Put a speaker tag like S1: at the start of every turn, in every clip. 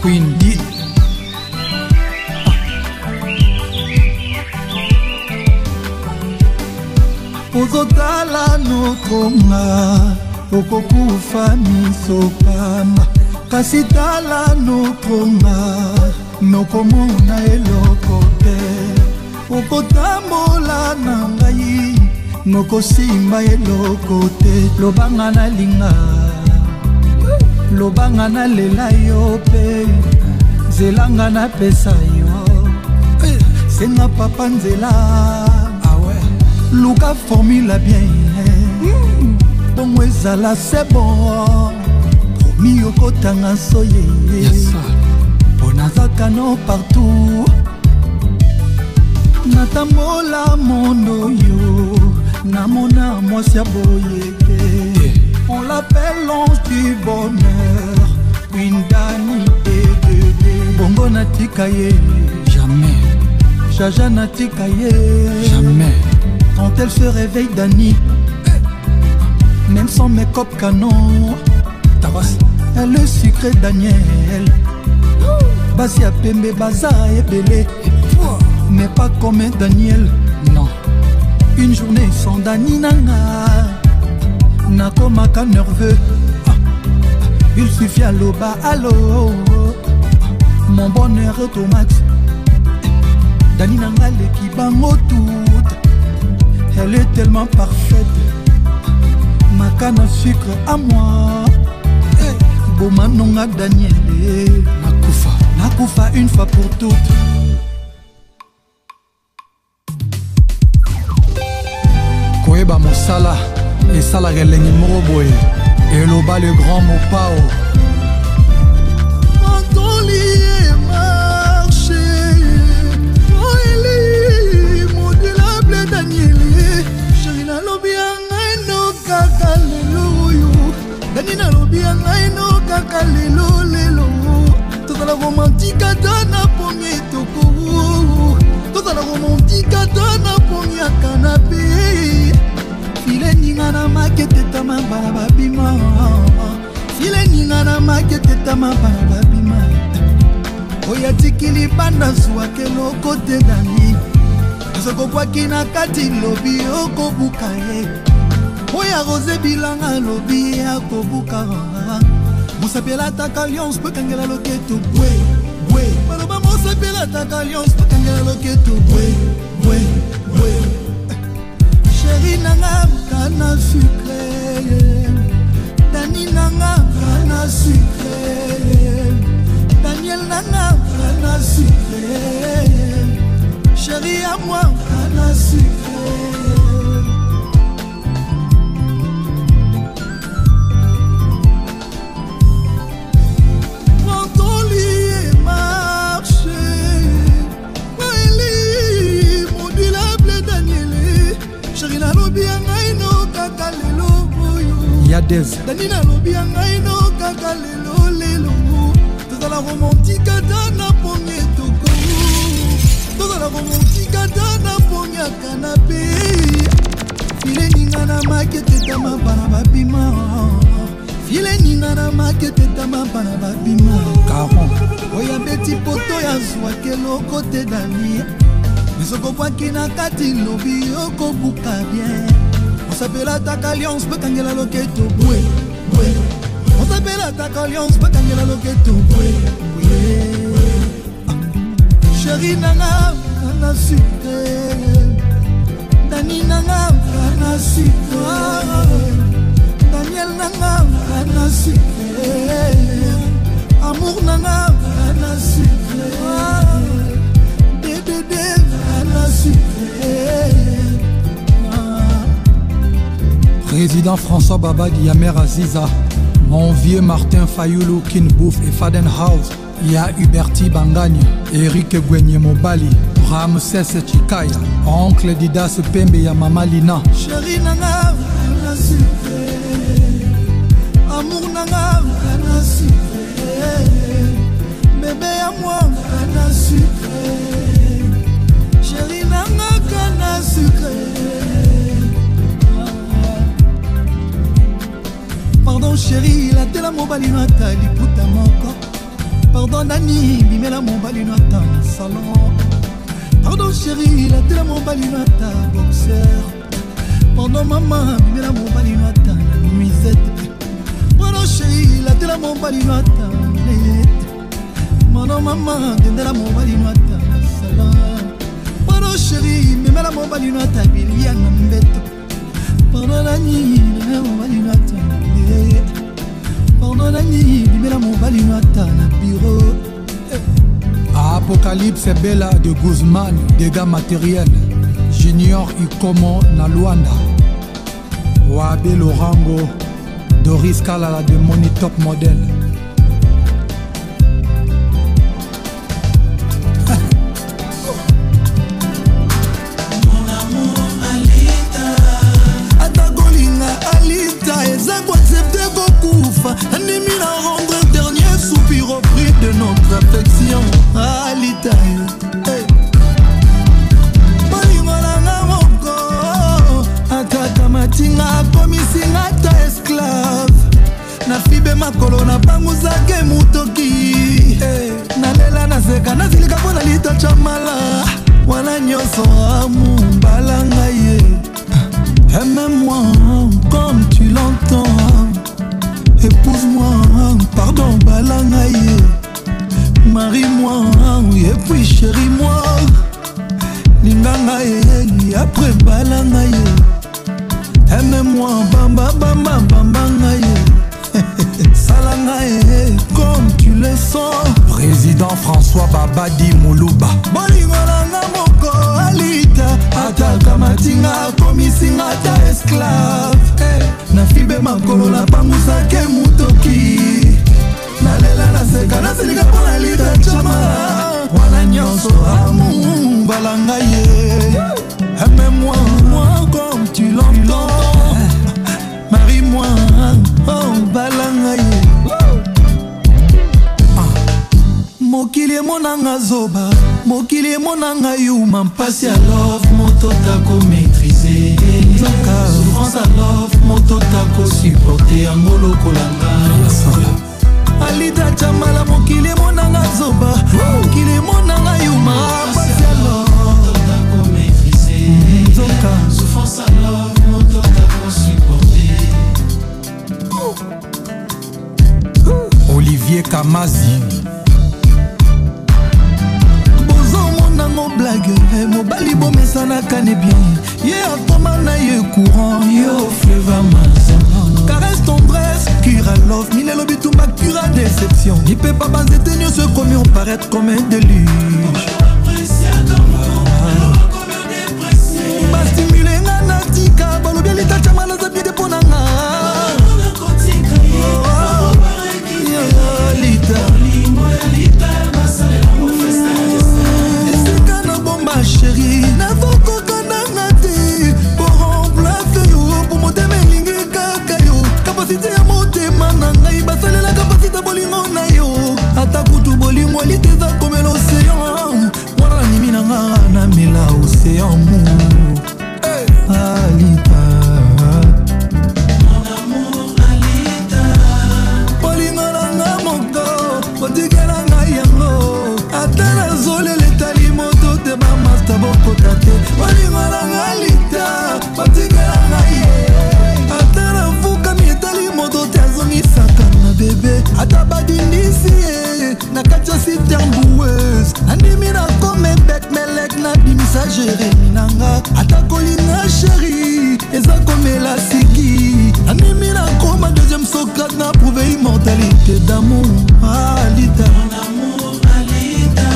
S1: Queen D.
S2: Ozotala notronga okokufa misopama kasi tala notronga nokomona eloko te okotambola na ngai nokosimba eloko te lobanga nalinga lobanga nalela yo pe nzelanga napesa yo senga papa nzela luka formula bien bongo ezala c'est bon promis okotanga soye ponazaka no partout natambola mondo yo namona mwasi ya boyeke on l'appelle l'ange du bonheur une dani et bébé bongo natika ye
S1: Jamais,
S2: jaja natika ye
S1: jamais.
S2: Quand elle se réveille Dani, même sans make-up canon, elle est sucrée Daniel. Basi a pembe baza et belé, mais pas comme un Daniel.
S1: Non.
S2: Une journée sans Dani nanga, nakomaka nerveux. Il suffit à l'oba, allô, mon bonheur est au max. Dani nanga l'équibango tout. Elle est tellement parfaite, ma canne à sucre à moi. Bomanonga Daniel, Nakoufa une fois pour toutes.
S1: Koeba Mosala et Sala Relengi Moroboe et Loba le grand Mopao.
S2: Danina lobia ngai no kaka lelo lelo tozala romantique dana pongi toko tozala romantique dana pongi ya canapé file ninga na makete tama bana babima file ninga na makete tama bana babima oya tikili banda swake loko te dani zoko kwa kina kati lobi oko bukaye oya rose bilanga lobi ya kobuka mosapela taka alliance pe kangela loketo bwe bwe baloba mosapela taka alliance pe kangela loketo bwe bwe bwe chéri nanga kana sucré Dani nanga kana sucré Daniel nanga kana sucré chéri à moi kana sucré.
S1: Yadez
S2: Danina lobia ngai no kaka lelo lelo tozala romantique dana pongi toko tozala romantique dana pongi ya canapé file ninga na makete tama bana babima file ninga na makete tama bana babima
S1: Caron
S2: oya beti poto ya zwake loko te Dani misoko bwaki na kati lobi okobuka bien. On s'appelle attaque alliance, peut kangela loketo boué boué. On s'appelle attaque alliance, peut kangela loketo boué boué. Chéri nana, kana sucré. Dani nana, kana sucré. Daniel nana, kana sucré. Amour nana, kana sucré. Dédé, kana sucré.
S1: Président François Babadi Yamer Aziza, mon vieux Martin Fayoulou Kinbouf et Fadenhouse, Ya Huberti Bangagne, Eric Gwenye Mobali, Ramses Chikaya, Oncle Didas Pembe ya Mama Lina.
S2: Chéri nanga, kana sucré. Amour nanga, kana sucré. Bébé à moi, kana sucré. Chéri nanga, kana sucré. Pardon chérie, la tela mobali natali puta moko Pardon Nani, bimela mon balinata salon. Pardon chérie, la télé mon balinata boxeur. Pardon maman, bimela mon balinata nuisette. Pardon chérie, la télé mon balinata net. Pardon maman, dendela mon balinata salon. Pardon chérie, bimela mon balinata biliana mbete. Pardon Nani, bimela mon balinata net. Pardon Nani, bimela mon balinata na bureau.
S1: Apocalypse Bella de Guzman, dégâts matériels. Junior Ikomo na Luanda. Wabe Lorango, Doris Kalala de Money Top Model.
S2: Mon amour Alita, Atagolinga Alita, eza ko accepter kokufa. Animi na rendre dernier soupir au prix de notre affection. Alita, hey. Bolingolanga moko, ataka matinga komisinga ta esclave. Na fibe makolo na banguzake mutoki, hey. Nalela naseka nazilika pona lita chamala. Wana nyoso amu balanga ye. Aime-moi comme tu l'entends. Épouse-moi, pardon balanga ye. Marie-moi, et puis chéris-moi. Linganga ye, après balanga ye. Aime-moi, bamba bamba bamba ye. Salanga ye, comme tu le sens.
S1: Président François Babadi Moulouba.
S2: Bolingolanga moko Alita, ataka matinga komisinga ta esclave. Na fibe makolo na banguzake mutoki. Nalela naseka nasilika pona lita chamala. Wana nyonso amu balanga ye. Aime-moi, moi comme tu l'entends. Marie-moi, oh balanga ye. Mokili monanga zoba, mokili monanga yuma. Mpasi à love, moto tako maîtriser. Souffrance à love, moto tako supporter. Angolo kolanga Alita chamala, mokili monanga zoba, mokili monanga yuma. Mpasi à love, moto tako maîtriser. Souffrance à love, moto tako supporter.
S1: Olivier Kamazi.
S2: Mon blague, mobali bomesana kane bien. Ye akoma na ye courant, yo fleuve amazon. Caresse tendresse, cura love, mine lobi tumba cura déception. Ni peut pas baser tes nues, ce commis on paraît comme un déluge. Ba stimuler nga natika, balobi alita chamala za bide ponanga. Chérie, n'avons qu'un te pour remplacer yo, pour monter mes lignes kakayo. Capacité à monter mananga, il va saler la capacité bolingo na yo. Atakutu bolingo liteza comme l'océan. Wala ni minanga na mila océan mou. Alita, mon amour Alita. Bolingo nanga moko, botikela nga yango. Atala zole letali moto te ba master boko tate. Bolingo nanga Alita, botikela nga ye. Atala fuka mi etali moto te azongisaka na bebe. Ata badindisi ye, na kati ya citerne boueuse. Andimi na kome bet melek na bimisa Jérémi nanga. Ata kolina chéri, eza komela siki. Andimi na koma deuxième Socrate na prouvé immortalité d'amour. Alita, mon amour Alita.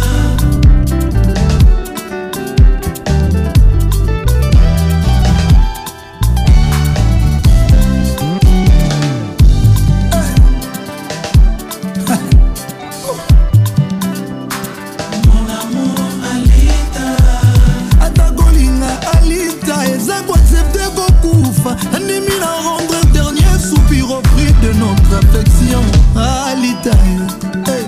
S2: Ennemi la rendre dernier soupir au prix de notre affection. Alita, hey.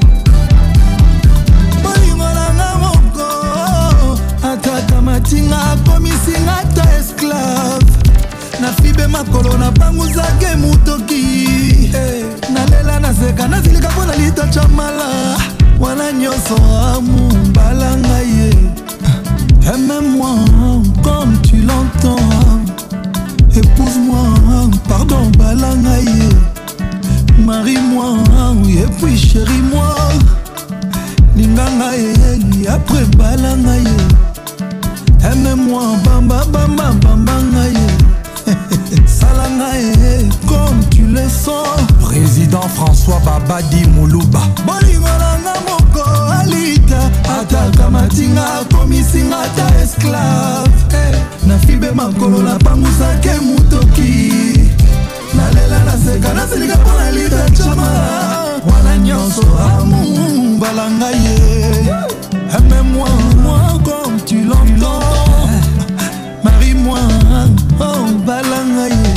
S2: Bolingolanga moko, ataka matinga komisinga ta esclave. Na fibe makolo na banguzake mutoki. nalela naseka nazilika mpona litacha mala wana nyonso amumbala ngai ye. Aime-moi comme tu l'entends, épouse-moi, pardon bala ngai ye. Marie-moi et puis chéris-moi, linga ngai ye après bala ngai ye. Aime-moi bamba bamba bamba ngai ye. Sala ngai comme tu le sens.
S1: Président François Babadi Moulouba.
S2: Bolingo nanga moko alita ataka matinga komisinga ta esclave. Na fibe makolo na pangusake mutoki. Nalela naseka nasilika mpona lita chama wana nyonso amu balanga ye. Aime-moi comme tu l'entends, marie-moi oh balanga ye.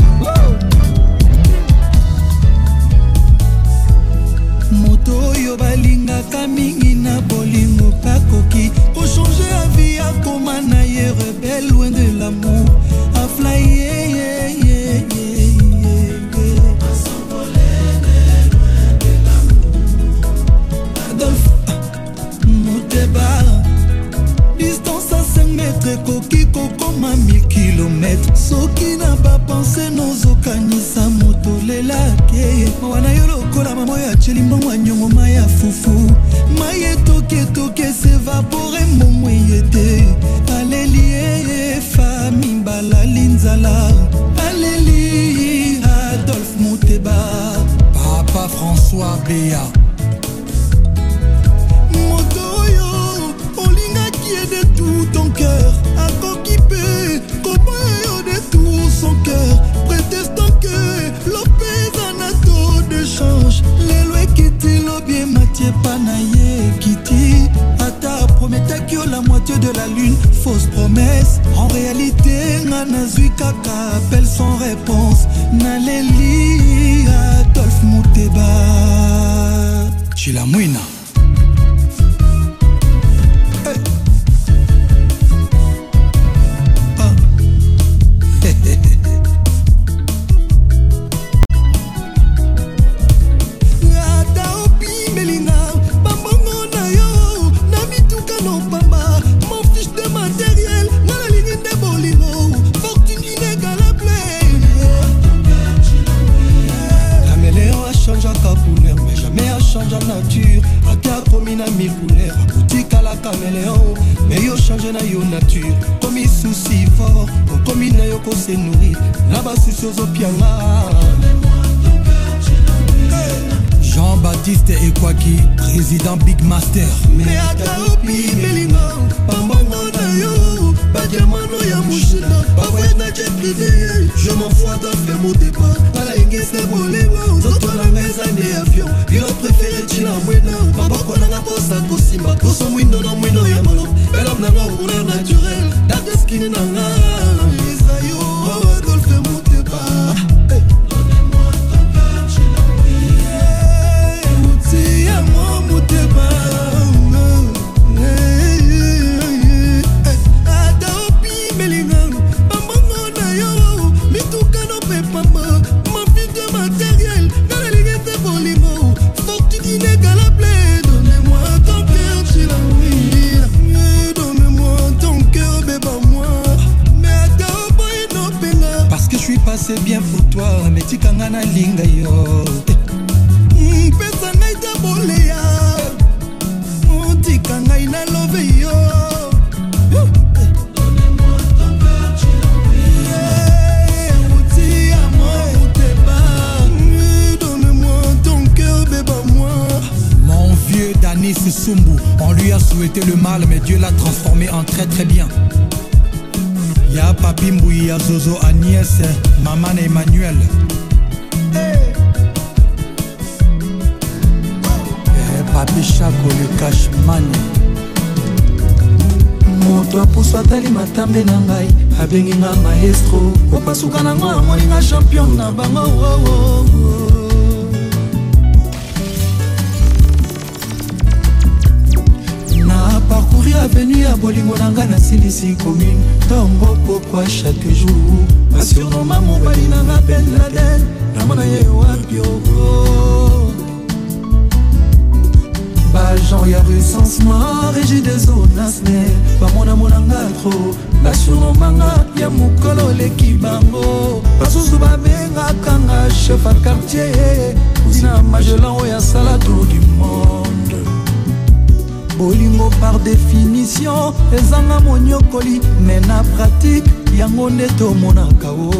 S2: Moto yo balingaka mingi na bolingo pakoki ko changer la vie a koma na ye rebelle loin de l'amour a fly Adolphe Moteba distance à 5 mètres koki kokoma 1000 km soki na ba pensé nozokanisa moto lelake wana yo lokola mamo ya cheli mbongo nyongo maya fufu maye toke toke s'évapore mbongo yete aleli fami balali nzala aleli Adolphe Moteba
S1: Papa François Béa.
S2: De tout ton cœur, à coquipé, comment de tout son cœur, prétestant que l'opé anato de change, les lois qui t'y bien Mathieu Panaye Kitty, Ata promettait que la moitié de la lune, fausse promesse, en réalité, Nanazui Kaka appelle sans réponse, Naleli Adolphe Moteba
S1: Chilamouina.
S2: nature akakomi na mille couleurs otikala caméléon mais yo change na yo nature komi souci fort okomi na yo kose nourrir na basusi ozopianga.
S1: Jean-Baptiste Ekwaki, président Big Master.
S2: Mais akaopi melinga pambongo na yo badiamano ya mushina bavoye na jet privé je m'en fous d'affaire mon départ ala ingese bolingo zoto na meza ne avion bilo préféré chila mwena maboko na nga posa kosimba poso mwindo na mwindo ya molo belam na nga couleur naturelle date skin na nga Isayo Adolphe Moteba.
S1: C'est bien pour toi, mais tu kanga na linga yo.
S2: Pesa ngai ta boleya, tika ngai na love yo. Donnez-moi ton cœur, tu donne-moi ton cœur, bébé-moi.
S1: Mon vieux Danis Sumbu, on lui a souhaité le mal, mais Dieu l'a transformé en très très bien. Ya Papi Mbouy, ya Zozo Agnès, Maman Emmanuel. Papi Chaco le Cashman.
S2: Moto apuso atali matambe na ngai abengi nga maestro opasuka na ngo amoni nga champion na bango. Na parcourir avenue ya bolingo na nga na silisi commune ntongo pokwa chaque jour basurnomma mobali na nga Ben Laden namona ye wapi oko bajan ya recensement régie des zones asne bamonamona nga tro basurnomma nga ya mokolo leki bango basusu babengaka nga chef a quartier tina magellan oyo asala tour du monde bolingo par définition ezanga monyokoli mais na pratique yango nde tomonaka o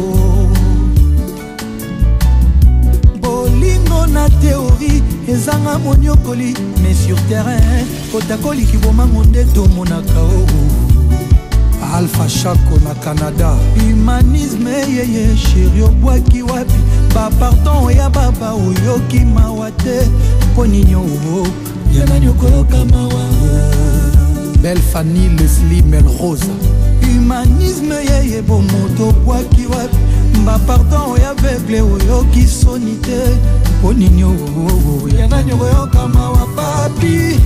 S2: bolingo na théorie ezanga monyokoli mais sur terrain kotakoliki bomango nde tomonaka o Alpha Chaco na Canada humanisme yeye chéri obwaki wapi bapardon ya baba oyoki mawa te mpo nini oo yana nyokoyoka mawa Belle Fanny Leslie Melrose humanisme yeye bomoto obwaki wapi bapardon ya aveugle oyoki soni te mpo nini oo yana nyokoyoka mawa papi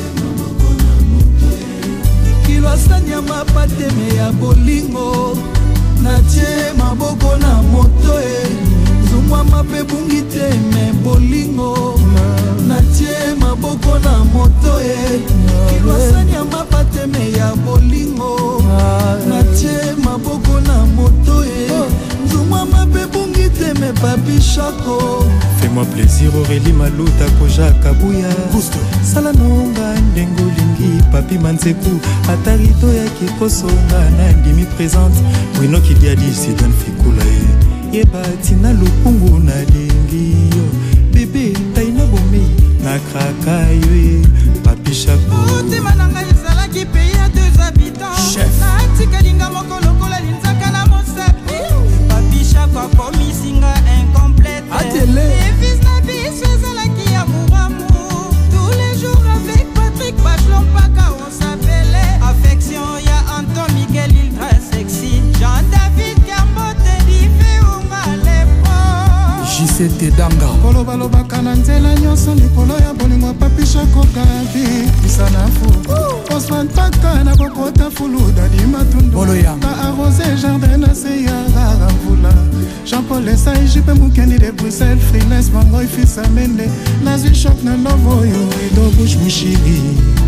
S2: kilwasanya mapateme ya bolingo natie maboko na moto zungwama mpe bungi te me bolingo natie maboko na moto kilwasanya mapateme ya bolingo natie maboko na moto zungwama mpe bungi te me papi Chaco.
S3: Fais-moi plaisir Aurélie Maluta Koja Kabuya Gusto Sala nonga ndengo lingi Papi Manseku Atarito ya kikosonga na ndimi présente Wino kidiadi Sidan Fikula Yeba tina lupungu na lingi Bébé taina bomei na kraka yue Papi Chaco
S4: Utima nanga yisala ki pays à 2 habitants
S2: Chef
S4: Natika linga moko lokola linzaka na mosapi Papi Chaco akomi singa incomplète
S2: Atele
S4: Les fils na biso ezalaki amour amour Tous les jours avec Patrick Bachelon Paka on s'appelait Affection ya Anton Miguel ultra sexy Jean-David Gambote dife unga lepo
S2: JCT Danga
S5: kolobalobaka na nzela nyonso likolo ya bolingo Papi Chaco Gabi isanafu Osman Paka na kokota fuluda di matundu ka arrosé jardin na se ya rara mvula Jean-Paul Esai jipe mukendi de Bruxelles freelance mangoy fils amende nazwi choc na lovo oyo edo bush mushiri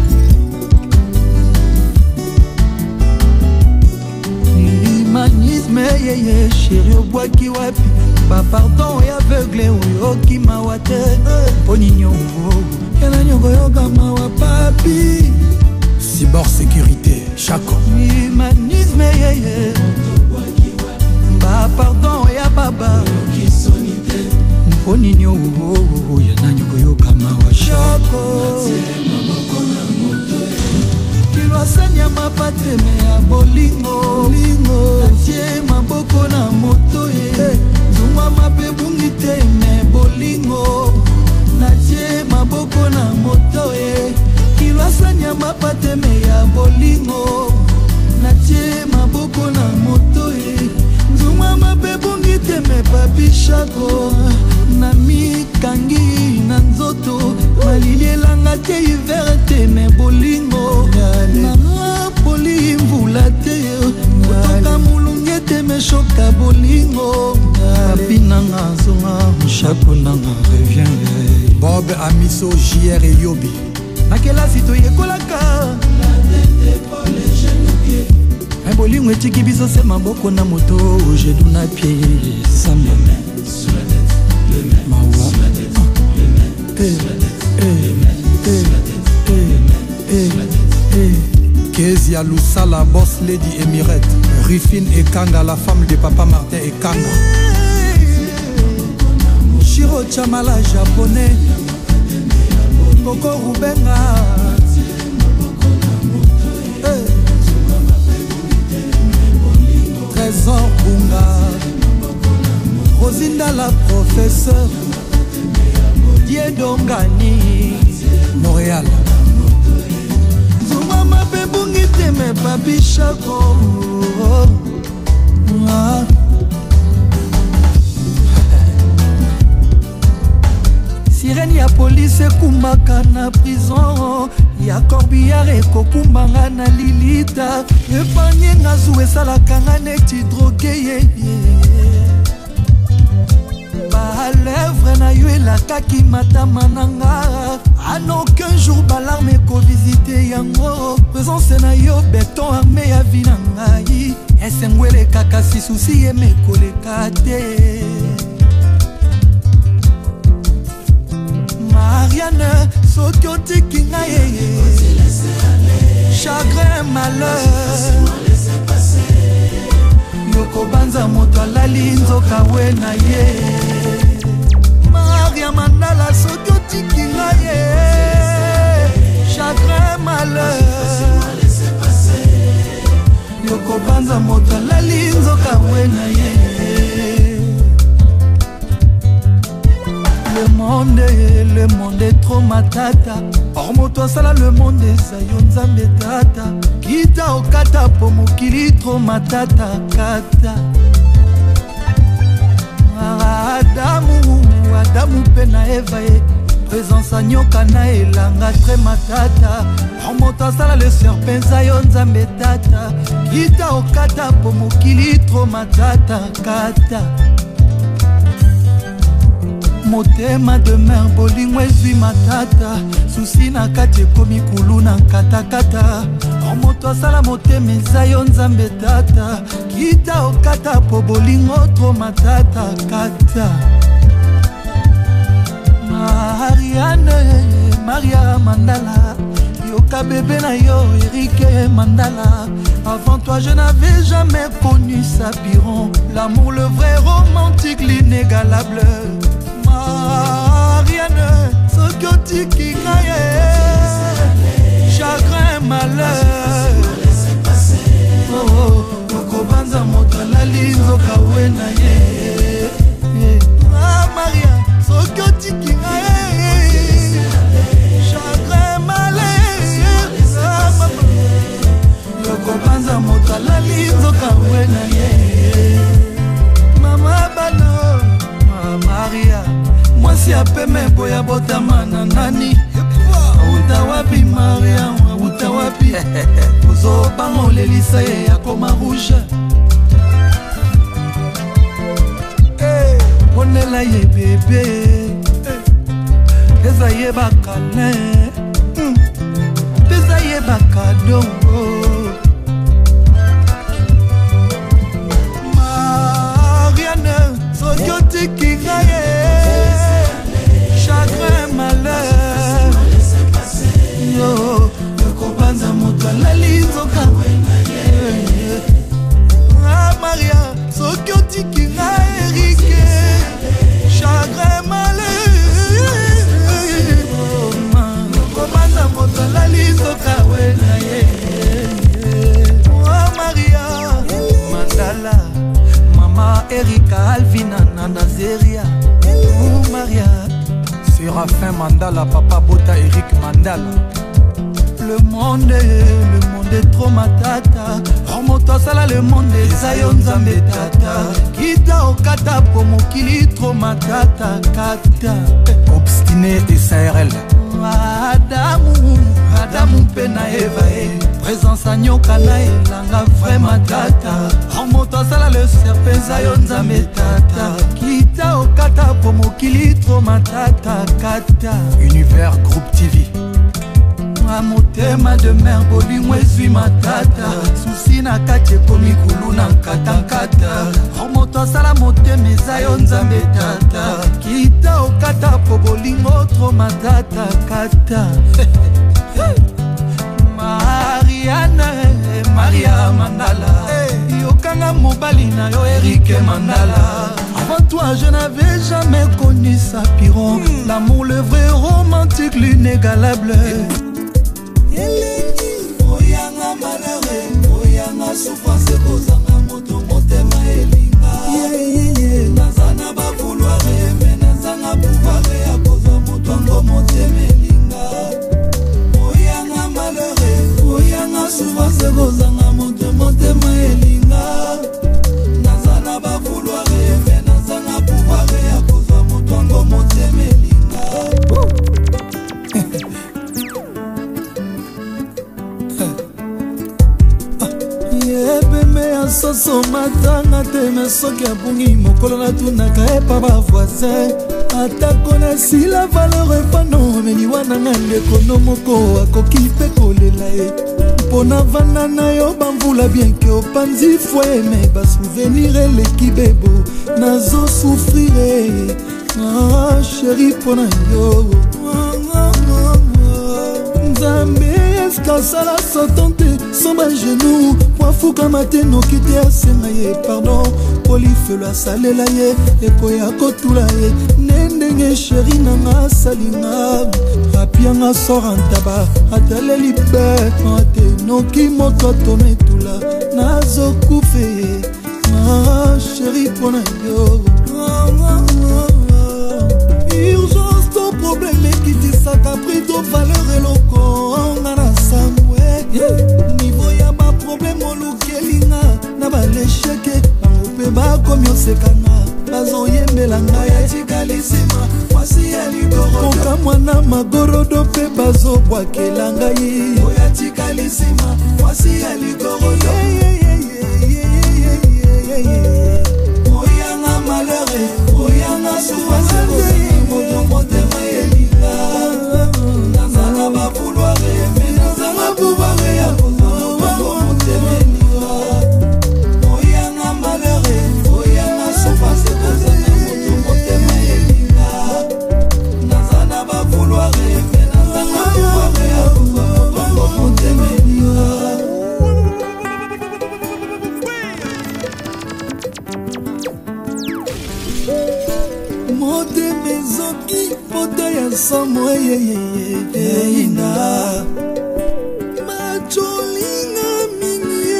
S2: humanisme yeye chéri obwaki wapi bapardon ya aveugle oyoki mawa te mpo nini yana nyokoyoka mawa papi Cyber sécurité Chaco humanisme yeye bapardon ya baba mpo nini yana nyokoyoka mawa Chaco kilwasanya mapateme ya bolingo natie maboko na moto zungwama mpe bungi te me bolingo natie maboko na moto kilwasanya mapateme ya bolingo natie maboko na moto zungwama mpe bungi te me Papi Chaco na mikangi na nzoto malilielanga te hiver te me bolingo nanga poli mvula te kotoka mulunge te me shoka bolingo papi nanga zonga Chaco nanga revient Bob Amiso JR et Yobi na kelasi toyekolaka bolingo etiki biso se maboko na moto jedu na pie sambe Kezia Lusala, boss lady Emirette Rufine Ekanga, la femme de papa Martin Ekanga Shiro Chamala, japonais Koko Rubenga Trésor Bunga Rosinda la professeure Diedongani Montréal Zumama pe bungi teme Papi Chaco Sirène ya police ekumbaka na prison ya corbillard ekokumbanga na lilita epanye nga zu esalaka nga neti droge yeye balèvre na yo elakaki matama na nga en aucun jour balarme ekovisite yango présence na yo beton arme ya vi na ngai esengo elekaka si susi emekoleka te Marianne soki otiki ngai yeye chagrin malheur yokobanza moto alali nzoka we na ye Maria Mandala soki otiki ngai ye chagrin malheur yokobanza moto alali nzoka we na ye Le monde est trop matata or moto asala le monde eza yo nzambe tata kita okata po mokili trop matata kata Adamu pe na Eva ye présence a nyoka na elanga très matata or moto asala le serpent eza yo nzambe tata kita okata po mokili trop matata kata motema de mer bolingo ezwi matata susi na kati ekomi kulu na katakata or moto asala motema eza yo nzambe tata kita okata po bolingo tro matata kata Maria Mandala yoka bébé na yo Eric Mandala avant toi je n'avais jamais connu Sapiron l'amour le vrai romantique l'inégalable Marianne soki otiki ngai chagrin malheur okobanza moto alali nzoka we na ye Maria soki otiki ngai chagrin malheur okobanza moto alali nzoka we na ye mama bano Maria mwasi apeme boya botama na nani auta wapi Maria auta wapi ozobanga olelisa ye yakoma rouge ponela ye bebe eza ye bakale eza ye bakado Marianne soki otiki ngai chagrin malheur yo yokobanza moto alali nzoka Maria soki otiki ngai Erike chagrin malheur yokobanza moto alali nzoka we na ye Maria Mandala mama Erika Alvina na Nazeria Maria Séraphin Mandala, papa Bota Eric Mandala. Le monde est trop matata. Remonte sala le monde eza yo nzambe tata. Kita okata po mokili trop matata kata. Obstiné et SARL. Adamu pe na Eva présence a nyoka na elanga vraiment tata. Remonte sala le serpent eza yo nzambe tata. Kita okata po mokili trop matata kata. Univers Groupe TV. Motema de mer bolingo ezwi matata susi na kati ekomi kulu na nkatankata moto asala motema eza yo nzambe tata kita okata po bolingo tro matata kata Maria Mandala yokanga mobali na yo Eric Mandala. Avant toi je n'avais jamais connu Sapiron l'amour le vrai romantique l'inégalable. Oyanga malheureux, oyanga souffrance kozanga moto motema elinga nazana ba vouloir mais nazana pouvoir ya kozwa moto ngo motema elinga. Oyanga malheureux, oyanga souffrance kozanga moto motema elinga nazana ba vouloir mais nazana pouvoir ya kozwa moto ngo motema elinga. atanga te me soki abungi mokolo natunaka epa bavoisin atako nasila valeur epano meliwa nanga ndekono moko akoki mpe kolela ye mpona vanda na yo bamvula bienke opanzi fwe me basouvenir eleki bebo nazosufrire sheri mpona yo nzambe eske asala sotan te somba genou mwafukama te noki te asenga ye pardon polifelo asalela ye ekoya kotula ye nde ndenge sheri nanga asalinga apianga sora ntaba ataleli mpe ate noki moto atona etula nazokufe sheri mpona yo urgence to problème ekitisaka pri to valeur eloko nga na samwe niveau ya baproblème olukelinga na balesheke bango mpe bakomi osekanga bazoyembela ngai yatikalisima mwasi ya ligorodo koka mwana magorodo mpe bazobwakela ngai oyatikalisima mwasi ya ligorodo oyanga malheure oyanga souffrance motema elinga nazala bavouloire me nazala pouvoire ya kozaa motema elinga oyanga malheure oyanga souffrance kozala motema elinga nazala bavouloire me nazala pouvoire ya kozaa motema elinga motema ezoki poto ya somo eyeyeyeyina macholinga mingi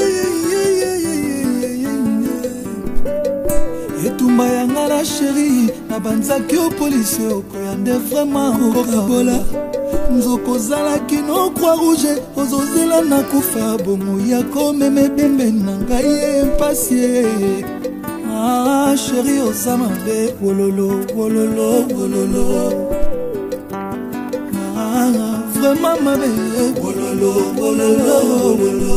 S2: etumba yanga na sheri na banzaki opolisi okoya nde vraimen okokabola nzokozalaki no croix rouge ozozela na kufa bomo ya komema ebembe na ngai empasie chéri oza mabe wololo wololo wololo vraiment mabe wololo wololo wololo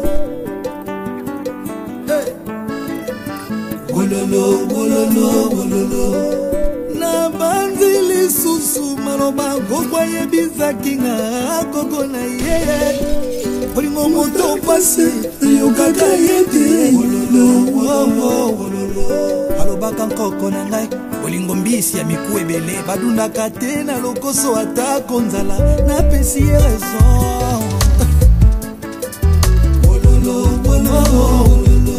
S2: wololo wololo wololo na banzi lisusu maloba gogwa yebizaki nga koko na ye olingo moto pase yokaka yete wololo wololo alobaka nkoko na ngai olingo mbisi ya miku ebele badundaka te na lokoso atako nzala napesi ye raison wololo wololo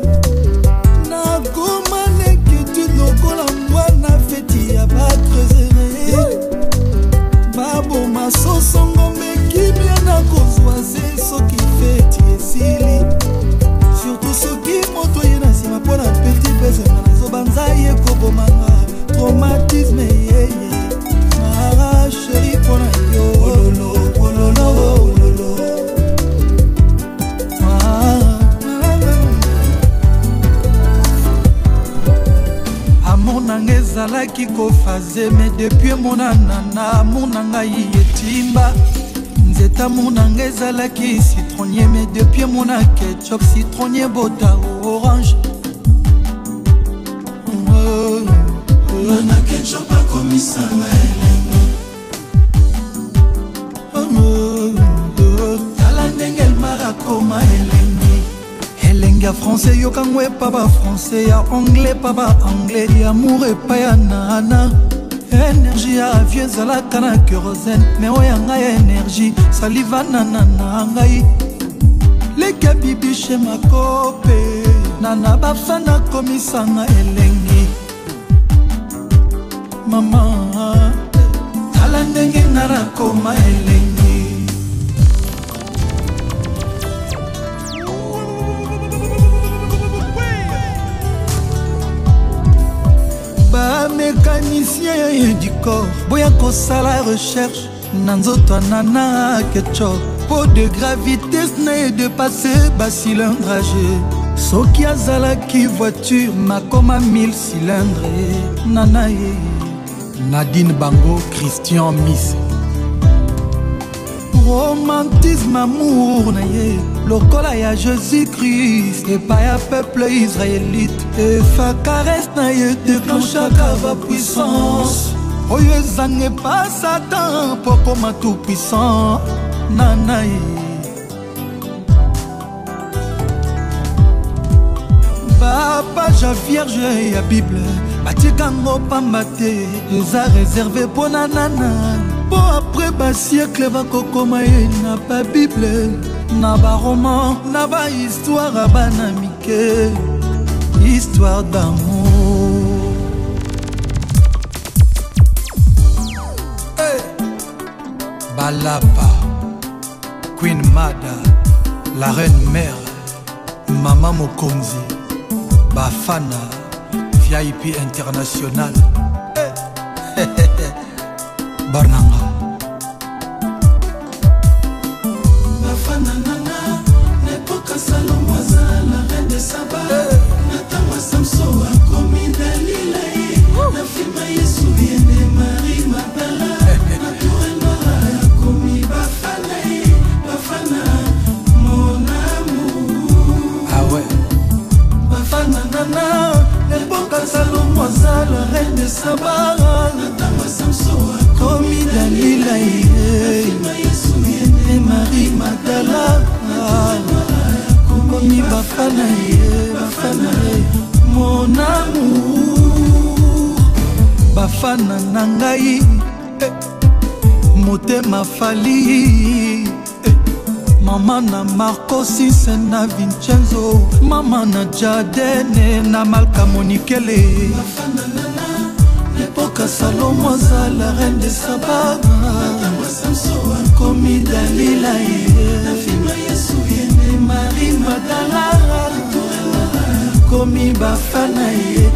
S2: nakoma nekitude lokola mwana feti ya batrezere baboma sosongo mekimia nakozwa se soki feti esili surtout soki moto ye na nsima mpo na petit bezenga nazobanza ye kobomanga traumatisme yeye sheri mpona yo ololo ololo ololo amor nanga ezalaki kofaze me depuis emonana na amor na ngai etimba nzeta amor nanga ezalaki citronnier me depuis emona ketchup citronnier bota orange na ketchup akomisanga elengi tala ndenge elmarakoma elengi ya français yokango epa bafrançais ya anglais pa baanglais ya amour epa ya nana énergie ya avio ezalaka na kérosène me oyo ya ngai ya énergie salivanana na ngai leka bibishe makope nana bafana komisanga elengi mama tala ndenge nga nakoma elengi bamécanicien du corps boya kosala recherche na nzoto anana ketchup po de gravité na de passer bacilindrage soki azalaki voiture makoma 1000 cylindre nana ye
S1: Nadine Bango, Christian Miss
S2: romantisme amour na ye lokola ya Jésus-Christ epai ya peuple israélite efa caresse na ye déclenchaka bapuissance oyo ezanga epa Satan mpo koma tout puissant nana ye bapage ya vierge ya bible batikango pamba te eza réservé mpo na nana po après basiècle bakokoma ye na babible na baroman na bahistoire ya bana mike histoire d'amour hey. Balapa Queen Mada la reine mère Mama Mokonzi Bafana VIP international Barnanga Bafana nana n'époque Salomoisa la reine de Saba Natama Samso a commis Dalila na filma Yesu viene Marie Magdala naturellement a commis Bafana mon amour ah ouais Bafana nana l'époque Salomoisa la reine de Saba Natama Samso a commis Dalila et Marie Magdala commis Bafana mon amour Bafana nangai motema fali mama na Marco Sisse na Vincenzo mama na Jadene na Malka Monikele Bafana nana l'époque Salomoisa la reine de Saba commis Dalila na filma Yesu yene Marie Magdala commis Bafana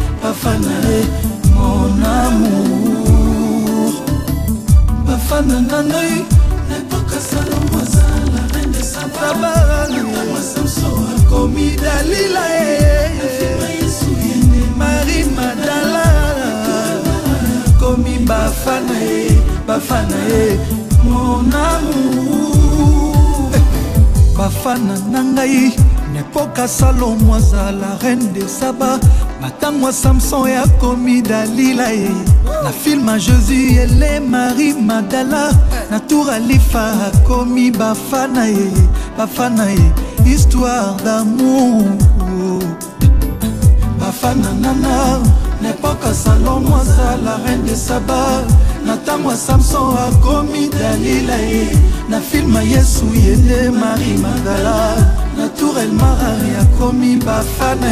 S2: mon amour Bafana nangai l'époque Salomoisa la reine de Saba commis Dalila na filma Yesu yene Marie Magdala commis Bafana mon amour Bafana nangai n'époque Salomoisa la reine de Saba matangwa Samson ya commis Dalila na film à Jésus et Marie Magdala na tour Alifa commis Bafana histoire d'amour Bafana nana n'époque Salomoisa la reine de Saba natangwa Samson a commis Dalila na film Yesu yende Marie Magdala na tour El Marari a commis Bafana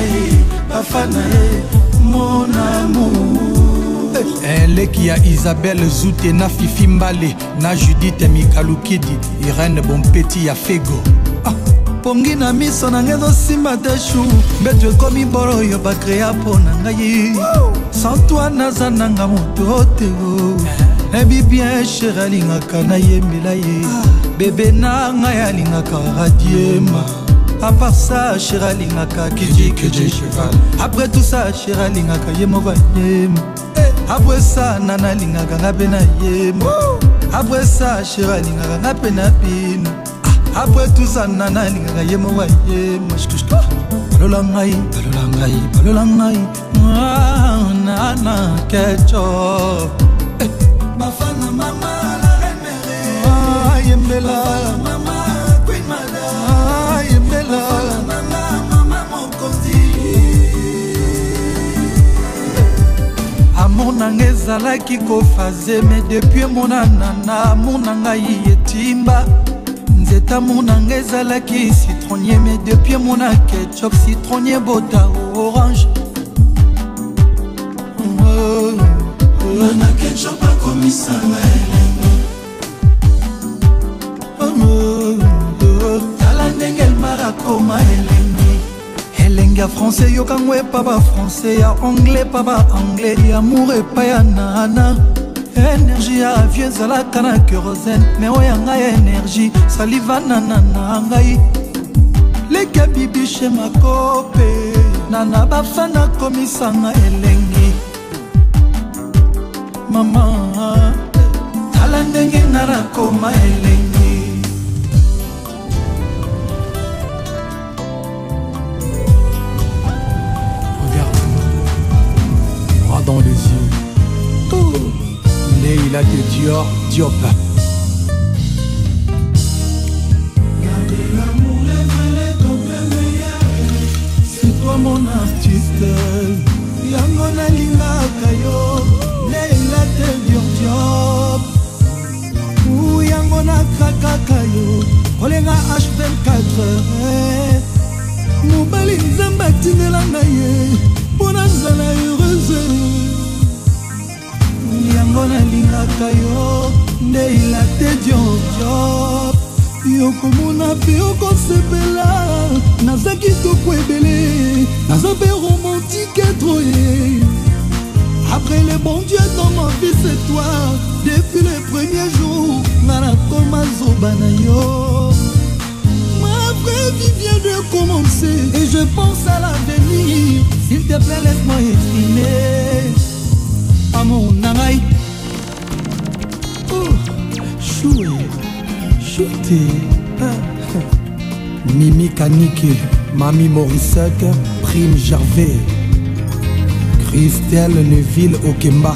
S2: mon amour eleki ya Isabelle Zute na Fifi Mbale na Judith Mikalukidi Irene Bompeti ya Fego pongi na miso na ngai ezosimba te shu mbeto ekomi bolo oyo bakrea mpo na ngai sans toi naza nanga moto te nayebi bien chéri alingaka nayembela ye bebe na ngai alingaka radiema à part ça chéri alingaka kiji cheval après tout ça chéri alingaka ye moko ayema après ça nana alingaka nga mpe na yema après ça chéri alingaka nga mpe na bino après tout ça nana alingaka ye moko ayema balola ngai nana kecho Bafana mama la reine mère yembela mama Queen Mada yembela mama Mokonzi amour nanga ezalaki kofaze mais depuis monanana amour nanga yetimba nzeta amour nanga ezalaki citronnier mais depuis mona ketchup citronnier bota orange na ketchup akomisanga tala ndenge elmara koma elenge ya français yokango epa bafrançais ya anglais pa baanglais yamour epa ya nana énergie ya avio ezalaka na kérosène me oyo ya ngai énergie salivanana na ngai leka bibishe makope nana bafana komisanga elengi mama tala ndenge nga nakoma elengi
S1: Leila de Dior, Diop.
S2: C'est toi mon artiste, yango nalingaka yo, Leila de Dior, Diop. Ou yango nakrakaka yo, kolenga H24. Mobali nzambe atindelanga ye mpona nzala heureuse. Yango nalingaka yo Leila te Diop. Yokomona mpe okosepela, naza kitoko ebele, naza mpe romantique etroye. Après le bon Dieu dans ma vie c'est toi. Depuis le premier jour nana koma zoba na yo. Ma vraie vie vient de commencer et je pense à l'avenir. S'il te plaît laisse-moi exprimer amour nangai. Oh, choué, chouté.
S1: Mimi Kaniki, Mami Morissette, Prime Gervais, Christelle Neville Okemba.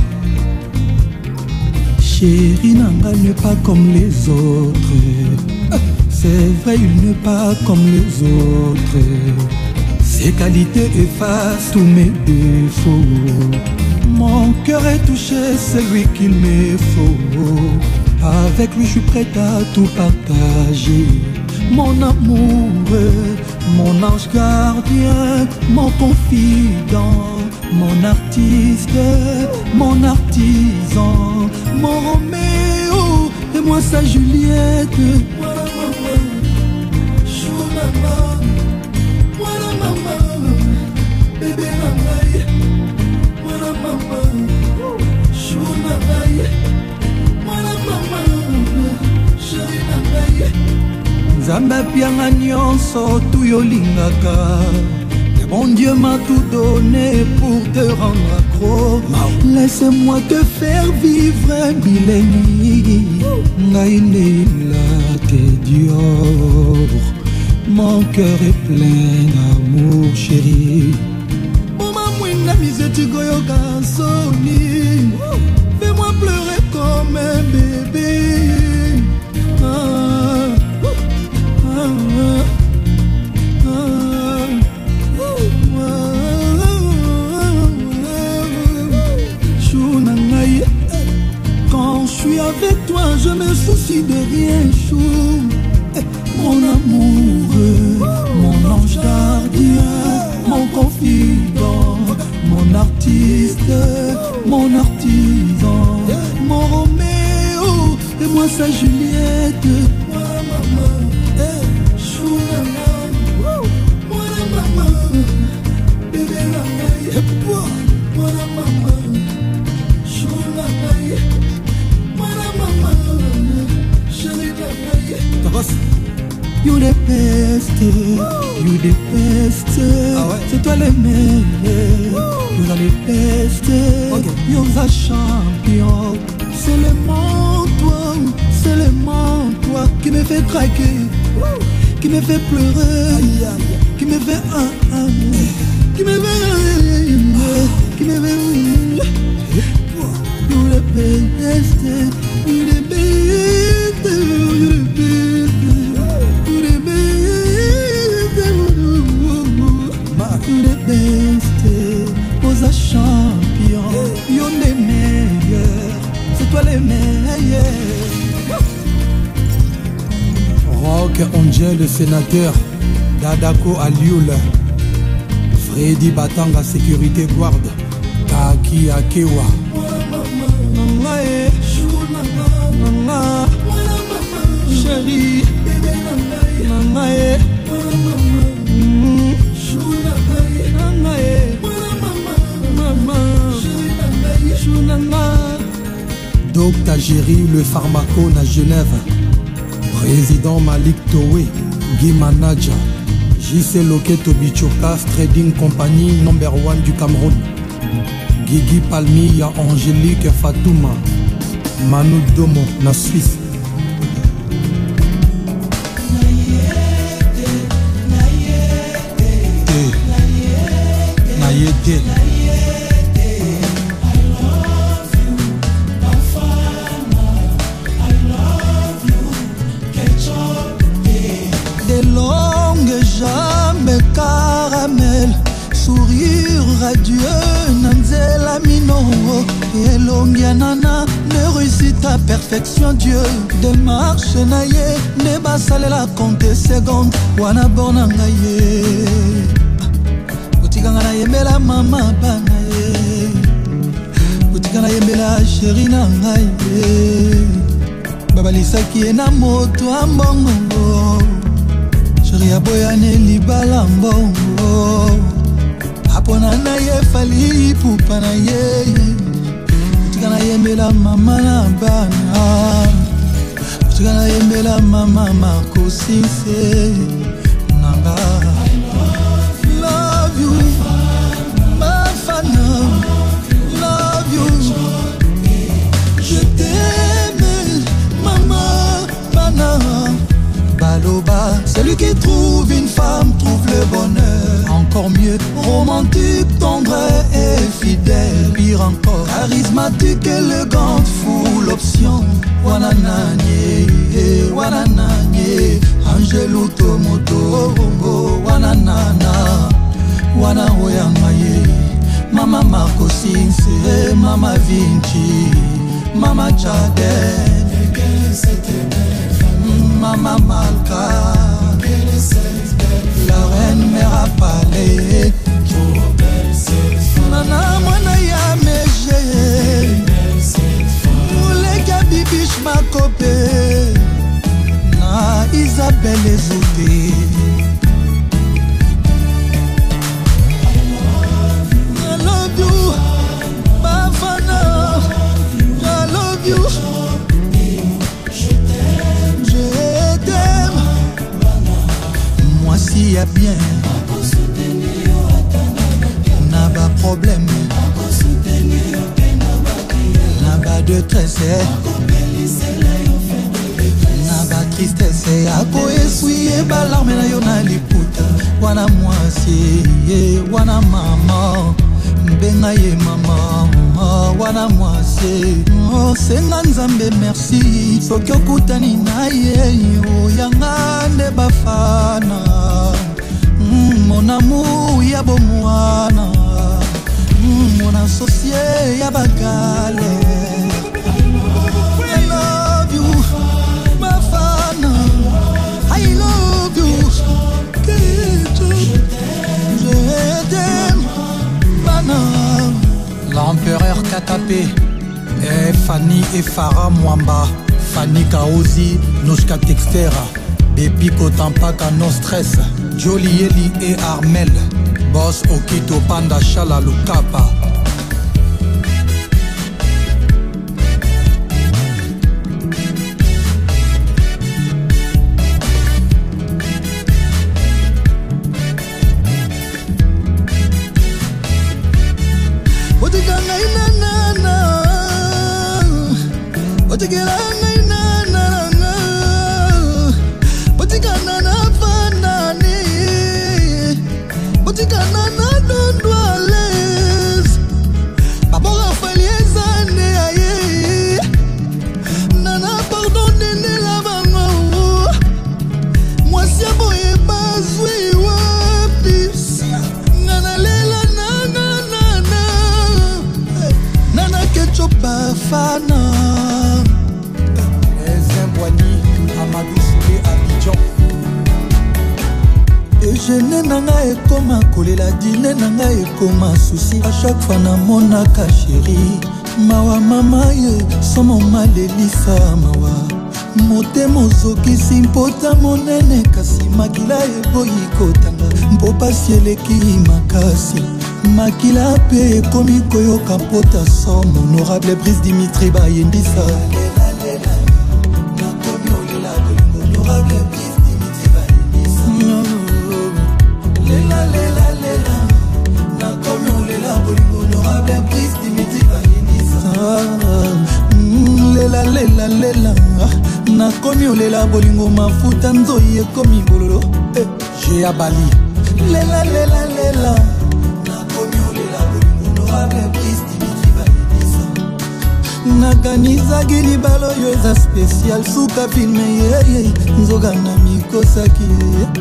S2: Chérie nanga n'est pas comme les autres. C'est vrai, il n'est pas comme les autres. Ses qualités effacent tous mes défauts. Mon cœur est touché, c'est lui qu'il me faut. Avec lui je suis prête à tout partager. Mon amour, mon ange gardien, mon confident, mon artiste, mon artisan, mon Roméo et moi sa Juliette. Voilà maman, chou maman, voilà maman, bébé maman, voilà maman, chou maman, voilà maman, chérie maman. Nzambe apianga nyonso tuyolingaka. Mon Dieu m'a tout donné pour te rendre accro. Laisse-moi te faire vivre Bileni. Leila te Dior. Mon cœur est plein d'amour chéri. Mama mwina miseti goyoka soni. Fais-moi pleurer comme un bébé. Quand je suis avec toi, je me soucie de rien, chou. Mon amour, mon ange gardien, mon confident, mon artiste, mon artisan, mon Roméo et moi sa Juliette. Voilà maman, chou maman, voilà maman, bébé maman, voilà maman, chou maman. You the best, you the best. Ah ouais? C'est toi le meilleur. You are the best, okay. You are the champion. Seulement toi qui me fait craquer, qui me fait pleurer, qui me fait qui me fait qui me fait. You the best, you the best, you the best. You the best, Osa champion, you le meilleur, c'est toi le meilleur.
S1: Rock Angel le sénateur, Dadako Alioul, Freddy Batanga sécurité guard, Taki Akewa.
S2: Chérie, maman,
S1: Docteur Géry, le pharmacone à Genève. Président Malik Towe, Guy Manaja. JC Loketo Bichokas Trading Company No.1 du Cameroun. Guigui Palmilla, Angélique Fatouma. Manu Domo, na Suisse. Nayete.
S2: adieu Nanzela Mino Elongianana ne réussit à perfection Dieu démarche naye ne basalela compte seconde wana borna ngaye utikanga na yembela mama bana ye utikanga na yembela chéri na ngaye babalisaki na moto ambongo chéri aboyane libala mbongo apona na ye fali pupa na ye utika na yembela mama na bana utika na yembela mama makosise nanga love you Bafana love you je t'aime maman bana Baloba, celui qui trouve une femme trouve le bonheur. Encore mieux, romantique, tendre et fidèle. Pire encore, charismatique, élégante, full option. Wanananye, wanananye, Angelou Tomoto, wananana, wanaoyangaye. Mama Marco Sinse, Mama Vinci, Mama Chadel. Mama Malka, la reine mère palais. Nana mwana ya meje, Moulega bibiche ma copé, na Isabelle Ezouté. I love you, Bafana, I love you. Moi s'il y a bien n'a pas problème n'a pas de tresse n'a pas tristesse ako essuyer balarme na yo na liputa wana mwasi wana mama mbenga ye mama wana mwasi senga nzambe merci soki okutani na ye oyanga nde bafana mon amour ya bomwana mon associé ya bagale I love you bafana I love you je t'aime bana. L'empereur Katapé et Fanny et Farah Mwamba, Fanny Kaozi, Noshka Textera, Bepiko Tampaka No Stress, Jolie Eli et Armel, Boss Okito Panda Shala Lukapa. A chaque fois na monaka chéri mawa mama ye somo malelisa mawa motema ozokisi mpota monene kasi makila eboyi kotanga mpo pasi eleki makasi makila mpe ekomi koyoka mpota som honorable Brice Dimitri bayendisa nakomi olela bolingo mafuta nzoyi ekomi bololo j'ai abali lela lela lela nakomi olela bolingo honorable Brice Dimitri bayebisa nakanizaki libala oyo eza spécial suka filme yeye nzoka na mikosaki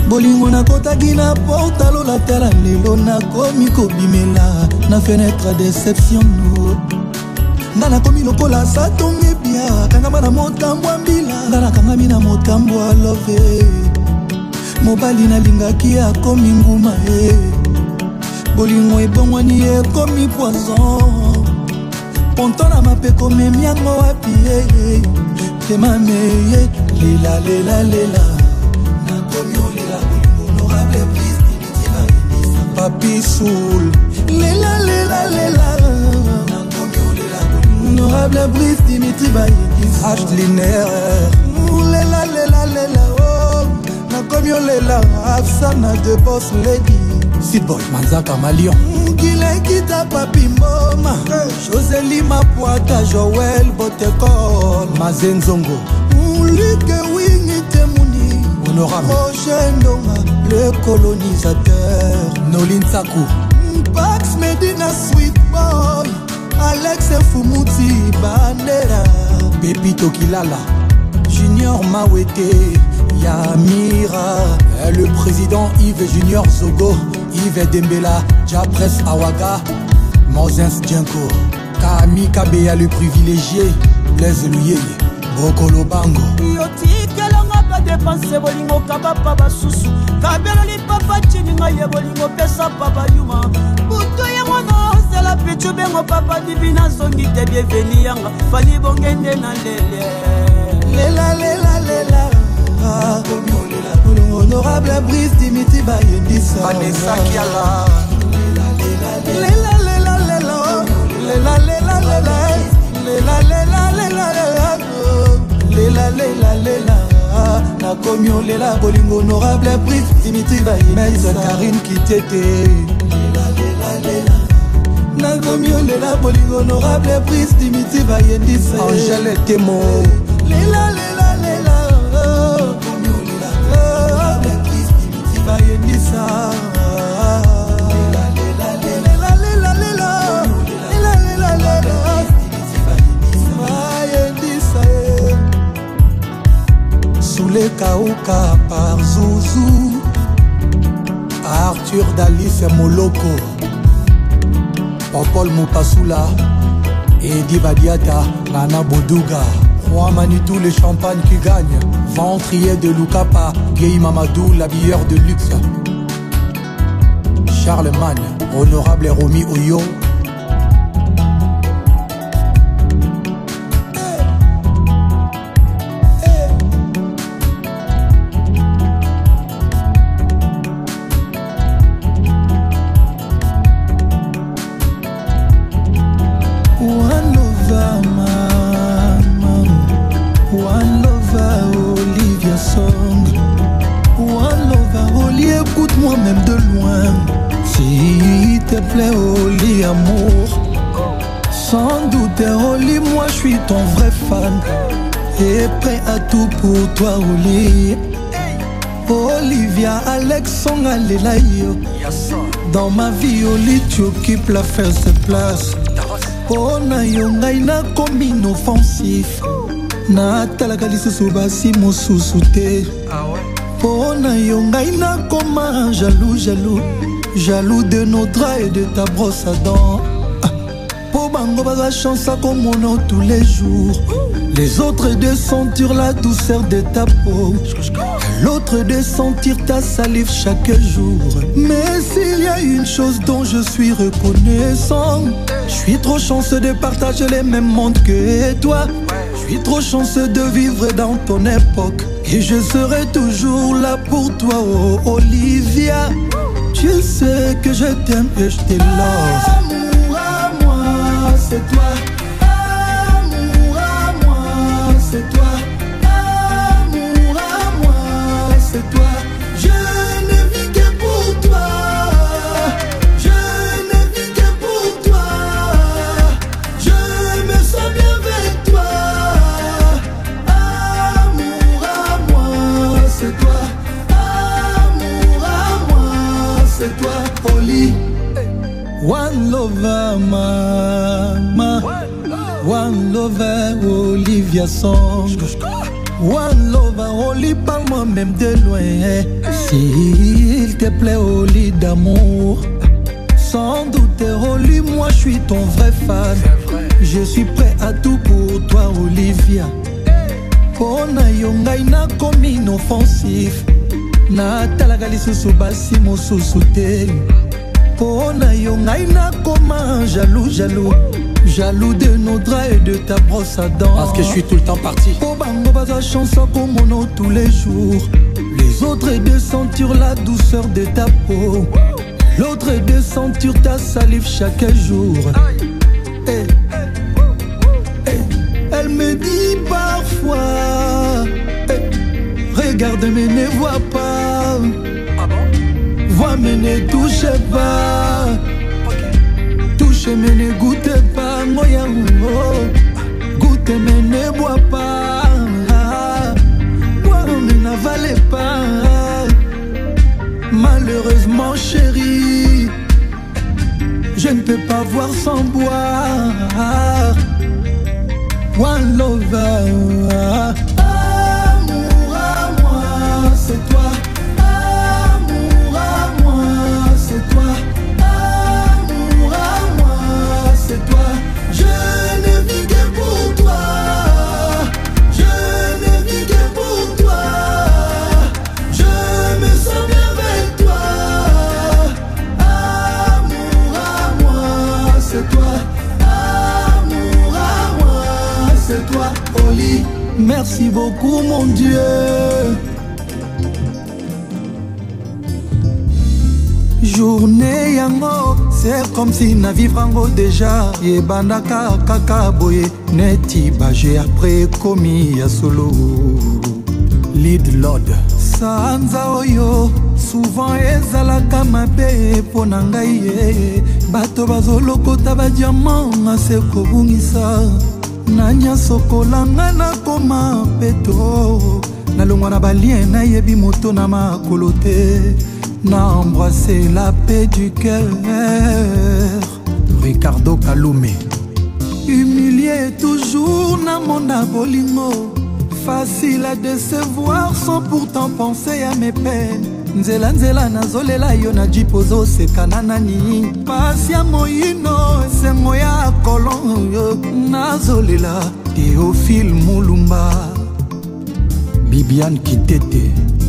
S2: bolingo nakotaki na portalo latala lelo nakomi kobimela na fenêtre déception no nga nakomi lokola satonge bia kangama na motambo ya mbila nga nakangami na motambo ya love mobali nalingaki akomi nguma bolingo ebongwani ekomi poison ponto na mapeko memiango wapi temameye lela lela lela nakomi olela bolingo honorable prise dimitima inisa papi soul lela lela lela nakomi olela bolingo honorable prise dimitima inisa ashliner lela lela lela oh nakomi olela afsana de boss lady Sidboy Manzaka Malion Kilekita Papi Mboma Joseli Mapuata Joël Botekol Mazenzongo Luke Wingi Temuni Honorable Roger Ndonga le colonisateur Nolin Sakou Pax Medina Sweet Boy Alex Fumuti Bandera Pepito Kilala Junior Mawete Yamira le président Yves Junior Zogo Yves Dembela, Japres Awaga, Mozens Djenko, Kami Kabeya le privilégié, Blaise Luyeye, Bokolo Bango.
S6: Yoti kelonga pa dépenser bolingo kaba papa susu, kabelo li papa chininga ye bolingo pesa papa yuma. Buto ye mwana c'est la pichu bengo papa divina zongi te bienveni yanga, fali bongende na lele.
S2: Lela lela lela. Honorable Brice Dimiti Bayendisa
S6: Vanessa Kiala
S2: Lela lela lela Lela lela lela Lela lela lela Lela lela lela Nakomi olela bolingo honorable Brice Dimiti Bayendisa Karine Kitete Lela lela lela Nakomi olela bolingo honorable Brice Dimiti Bayendisa Angèle Temo Lela lela lela Soulé Kauka par Zouzou Arthur Dalis Moloko Popol Mopasula Edi Badiata Nana Boduga Juan Manitou le champagne qui gagne Ventrier de Lukapa Gay Mamadou l'habilleur de luxe Charlemagne Honorable Romy Oyo écoute-moi même de loin. S'il te plaît, Oli, amour. Sans doute, Oli, moi je suis ton vrai fan. Et prêt à tout pour toi, Oli. Olivia, Alexandre, Alelayo. Dans ma vie, Oli, tu occupes la first place. Oh, na yonga, ina comme inoffensif. Na talakalisi subasi mosusute. Oh na yonga ina comme jaloux, jaloux. Jaloux de nos draps et de ta brosse à dents. Pour bango baza chance à comme mon nom tous les jours. Les autres de sentir la douceur de ta peau. L'autre de sentir ta salive chaque jour. Mais s'il y a une chose dont je suis reconnaissant, je suis trop chanceux de partager les mêmes mondes que toi. Je suis trop chanceux de vivre dans ton époque. Et je serai toujours là pour toi, oh Olivia. Tu sais que je t'aime et je te love. Amour à moi, c'est toi. Amour à moi, c'est toi. Amour à moi, c'est toi. Je ne vis que pour toi. Je ne vis que pour toi. Je me sens bien avec toi. Amour à moi, c'est toi. Amour à moi, c'est toi. Oli. One lover, mama. One lover, Olivia Song. One love, Oli, parle-moi même de loin. S'il te plaît, Oli d'amour. Sans doute, Oli, moi je suis ton vrai fan. Je suis prêt à tout pour toi, Olivia. Pona yo ngai na komi inoffensif. Na talaka lisusu basi mosusu te. Pona yo ngai na koma jaloux, jaloux. Jaloux de nos draps et de ta brosse à dents.
S1: Parce que je suis tout le temps parti.
S2: Oh bango baza chanson comme on tous les jours. Les autres est de sentir la douceur de ta peau. L'autre est de sentir ta salive chaque jour. Hey. Hey. Elle me dit parfois hey. Regarde mais ne vois pas.
S1: Ah bon?
S2: Vois mais ne touche pas. Touche mais ne goûte pas. Moya goûte mais ne bois pas. Boire mais n'avale pas. Malheureusement chérie, je ne peux pas voir sans boire. One lover. Amour à moi, c'est toi. Amour à moi, c'est toi. Amour à moi, c'est toi. Je ne vis que pour toi. Je ne vis que pour toi. Je me sens bien avec toi. Amour à moi, c'est toi. Amour à moi, c'est toi. Oli, merci beaucoup mon Dieu. Journée yango, c'est comme si na vivrango déjà. Yebandaka kaka boye, neti baje après komi ya solo.
S1: Lead Lord.
S2: Sanza oyo, souvent ezalaka mabe pona ngai ye. Bato bazolokota ba diamant ase kobungisa. Nanya sokolanga na koma peto. Nalongwa na balien na yebi moto na makolo te. Na embrasser la paix du cœur.
S1: Ricardo Kaloumé.
S2: Humilié toujours na mona bolingo. Facile à décevoir sans pourtant penser à mes peines. Nzela nzela nazolela yo na jipozo sekana nani. Pasi ya moyino esengo ya kolon yo. Nazolela Théophile Mulumba.
S1: Bibiane Kitete.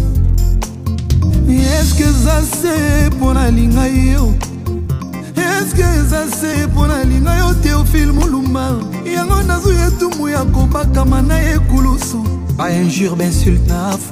S2: Est-ce que ça c'est pour la ligne yo? Est-ce que ça c'est pour la ligne yo Théophile Mulumba? Yango nazuye tumu ya kobaka mana ekulusu. Ba injure, ben insulte na